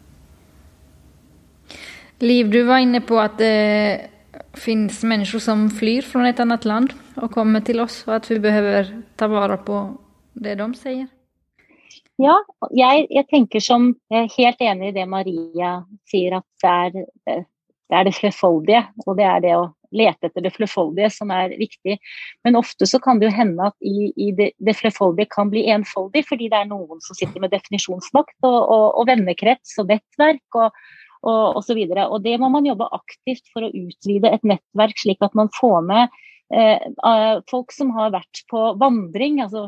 Liv, du var inne på at det finns människor som flyr från ett annat land och kommer till oss, och att vi behöver ta vara på det de säger. Ja, jeg tenker som, jeg helt enig i det Maria sier, at det det flerfoldige, og det det å lete etter det flerfoldige som viktig. Men ofte så kan det jo hende at i det flerfoldige kan bli enfoldig, fordi det noen som sitter med definisjonsmakt og vennekrets og nettverk og så videre. Og det må man jobbe aktivt for å utvide et nettverk, slik at man får med folk som har varit på vandring, alltså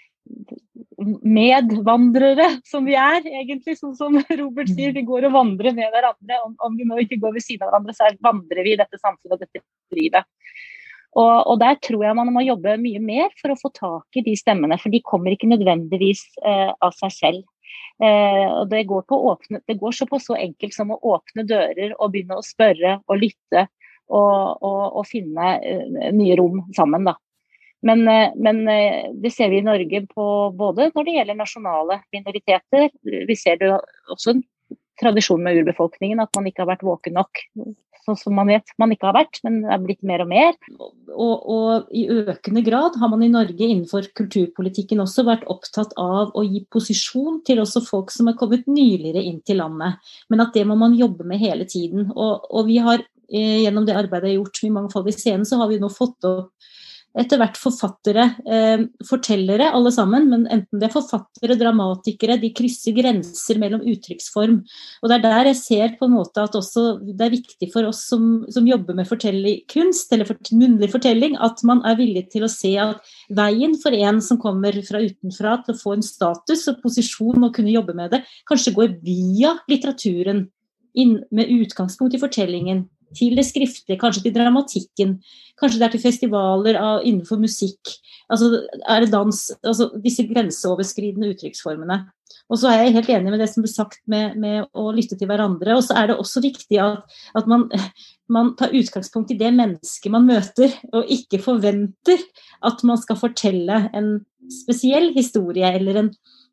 medvandrare som vi är egentligen, som Robert säger, vi går och vandrar med varandra. Om vi nu inte går vid sidan av varandra så vandrar vi i detta samfunnet, detta livet. Och där tror jag man må jobba mycket mer för att få tag i de stämmorna, för de kommer inte nödvändigtvis av sig själv. Och det går så på så enkelt som att öppna dörrar och börja spöra och lyssna och finna nya rum samman då. Men det ser vi i Norge på både när det gäller nationella minoriteter. Vi ser det också en tradition med urbefolkningen att man inte har varit vaken nog, så som man vet man inte har varit, men det har blivit mer och mer. Och i ökande grad har man i Norge innanför kulturpolitiken också varit upptatt av att ge position till också folk som har kommit nyligare in till landet, men att det må man jobba med hela tiden. Och vi har genom det arbetet jag gjort med mångfaldig scen så har vi nu fått upp etter hvert forfattere, fortellere alle sammen, men enten det er forfattere, dramatikere, de krysser grenser mellom uttrykksform. Og det er der jeg ser på en måte at også det er viktig for oss som jobber med fortellerkunst, eller munnlig fortelling, at man er villig til å se at veien for en som kommer fra utenfra til å få en status og posisjon og kunne jobbe med det, kanskje går via litteraturen, med utgangspunkt i fortellingen, till det skriftliga, kanske till dramatiken, kanske där till festivaler innanför musik, alltså är det dans, alltså dessa gränsöverskridande uttrycksformerna. Och så är jag helt enig med det som blir sagt med att lyssna till varandra, och så är det också viktigt att man tar utgångspunkt i det människa man möter och inte förväntar att man ska fortälla en speciell historia eller en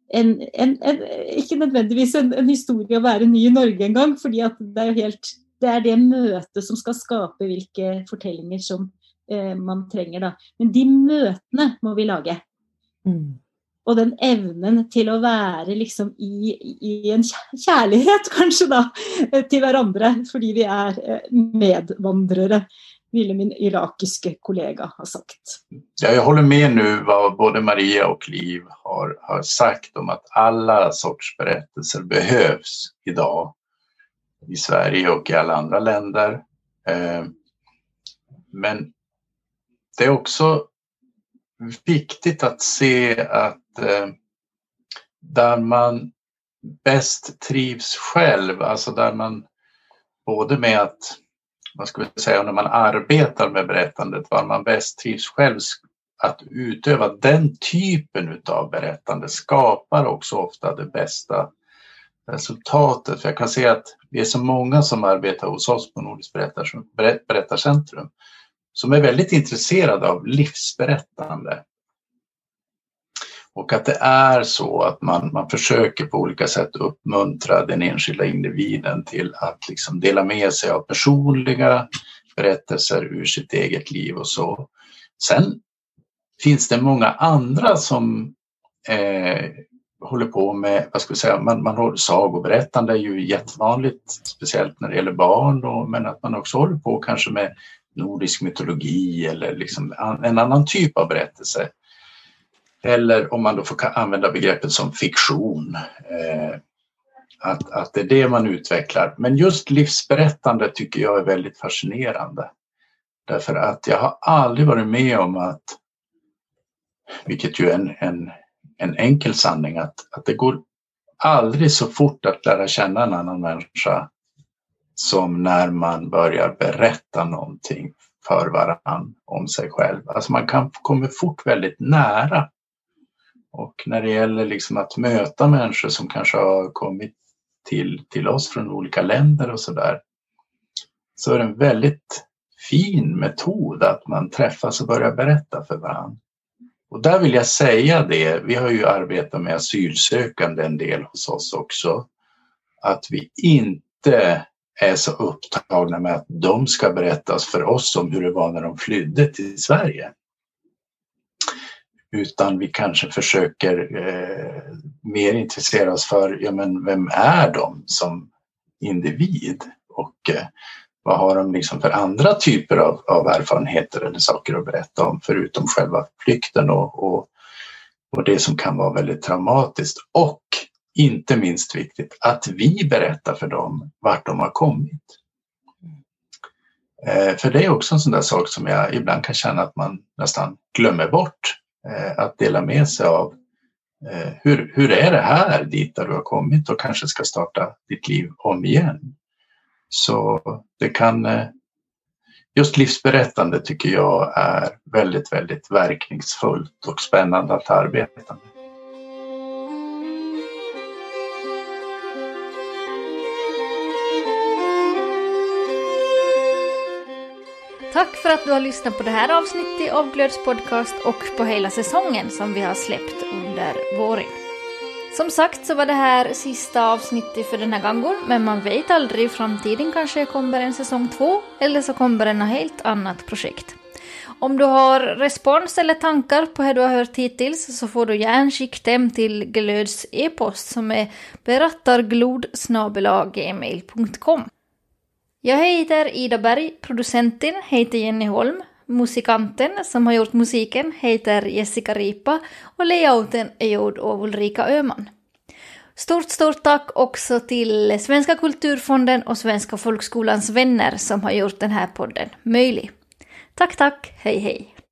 inte nödvändigtvis en historia att vara ny i Norge en gång, för att det är det möte som ska skapa vilka fortellinger som man tränger då. Men de mötena må vi lage. Och den evnen till att vara liksom i en kärlighet kanske då till varandra, för vi är medvandrare, ville min irakiske kollega ha sagt. Ja, jag håller med nu vad både Maria och Liv har sagt om att alla sorts berättelser behövs idag i Sverige och i alla andra länder. Men det är också viktigt att se att där man bäst trivs själv, alltså där man både med att, vad ska vi säga, när man arbetar med berättandet, var man bäst trivs själv, att utöva den typen av berättande skapar också ofta det bästa resultatet. För jag kan se att vi är så många som arbetar hos oss på Nordiskt berättarcentrum som är väldigt intresserade av livsberättande. Och att det är så att man försöker på olika sätt uppmuntra den enskilda individen till att liksom dela med sig av personliga berättelser ur sitt eget liv och så. Sen finns det många andra som håller på med, vad ska vi säga, man håller sagoberättande är ju jättevanligt, speciellt när det gäller barn, men att man också håller på kanske med nordisk mytologi eller liksom en annan typ av berättelse. Eller om man då får använda begreppet som fiktion, att det är det man utvecklar. Men just livsberättande tycker jag är väldigt fascinerande. Därför att jag har aldrig varit med om att, vilket ju är en enkel sanning, att det går aldrig så fort att lära känna en annan människa som när man börjar berätta någonting för varann om sig själv. Alltså man kommer fort väldigt nära. Och när det gäller liksom att möta människor som kanske har kommit till oss från olika länder och sådär, så är det en väldigt fin metod att man träffas och börjar berätta för varandra. Och där vill jag säga det, vi har ju arbetat med asylsökande en del hos oss också, att vi inte är så upptagna med att de ska berättas för oss om hur det var när de flydde till Sverige. Utan vi kanske försöker mer intressera oss för, ja men vem är de som individ och vad har de liksom för andra typer av erfarenheter eller saker att berätta om förutom själva flykten och det som kan vara väldigt traumatiskt. Och inte minst viktigt att vi berättar för dem vart de har kommit. För det är också en sån där sak som jag ibland kan känna att man nästan glömmer bort. Att dela med sig av hur är det här dit där du har kommit och kanske ska starta ditt liv om igen. Så det kan, just livsberättande tycker jag är väldigt, väldigt verkningsfullt och spännande att arbeta med. Tack för att du har lyssnat på det här avsnittet av Glöds podcast och på hela säsongen som vi har släppt under våren. Som sagt så var det här sista avsnittet för den här gången, men man vet aldrig, i framtiden kanske kommer en säsong 2 eller så kommer en helt annat projekt. Om du har respons eller tankar på hur du har hört hittills så får du gärna skicka dem till Glöds e-post som är berattarglod@gmail.com. Jag heter Ida Berg, producenten heter Jenny Holm, musikanten som har gjort musiken heter Jessica Ripa och layouten är gjord av Ulrika Öhman. Stort tack också till Svenska kulturfonden och Svenska folkskolans vänner som har gjort den här podden möjlig. Tack, hej hej!